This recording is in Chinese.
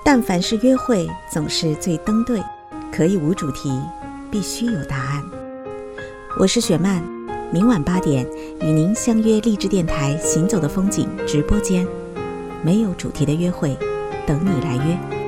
但凡是约会，总是最登对，可以无主题，必须有答案。我是雪漫，明晚8点与您相约励志电台行走的风景直播间，没有主题的约会，等你来约。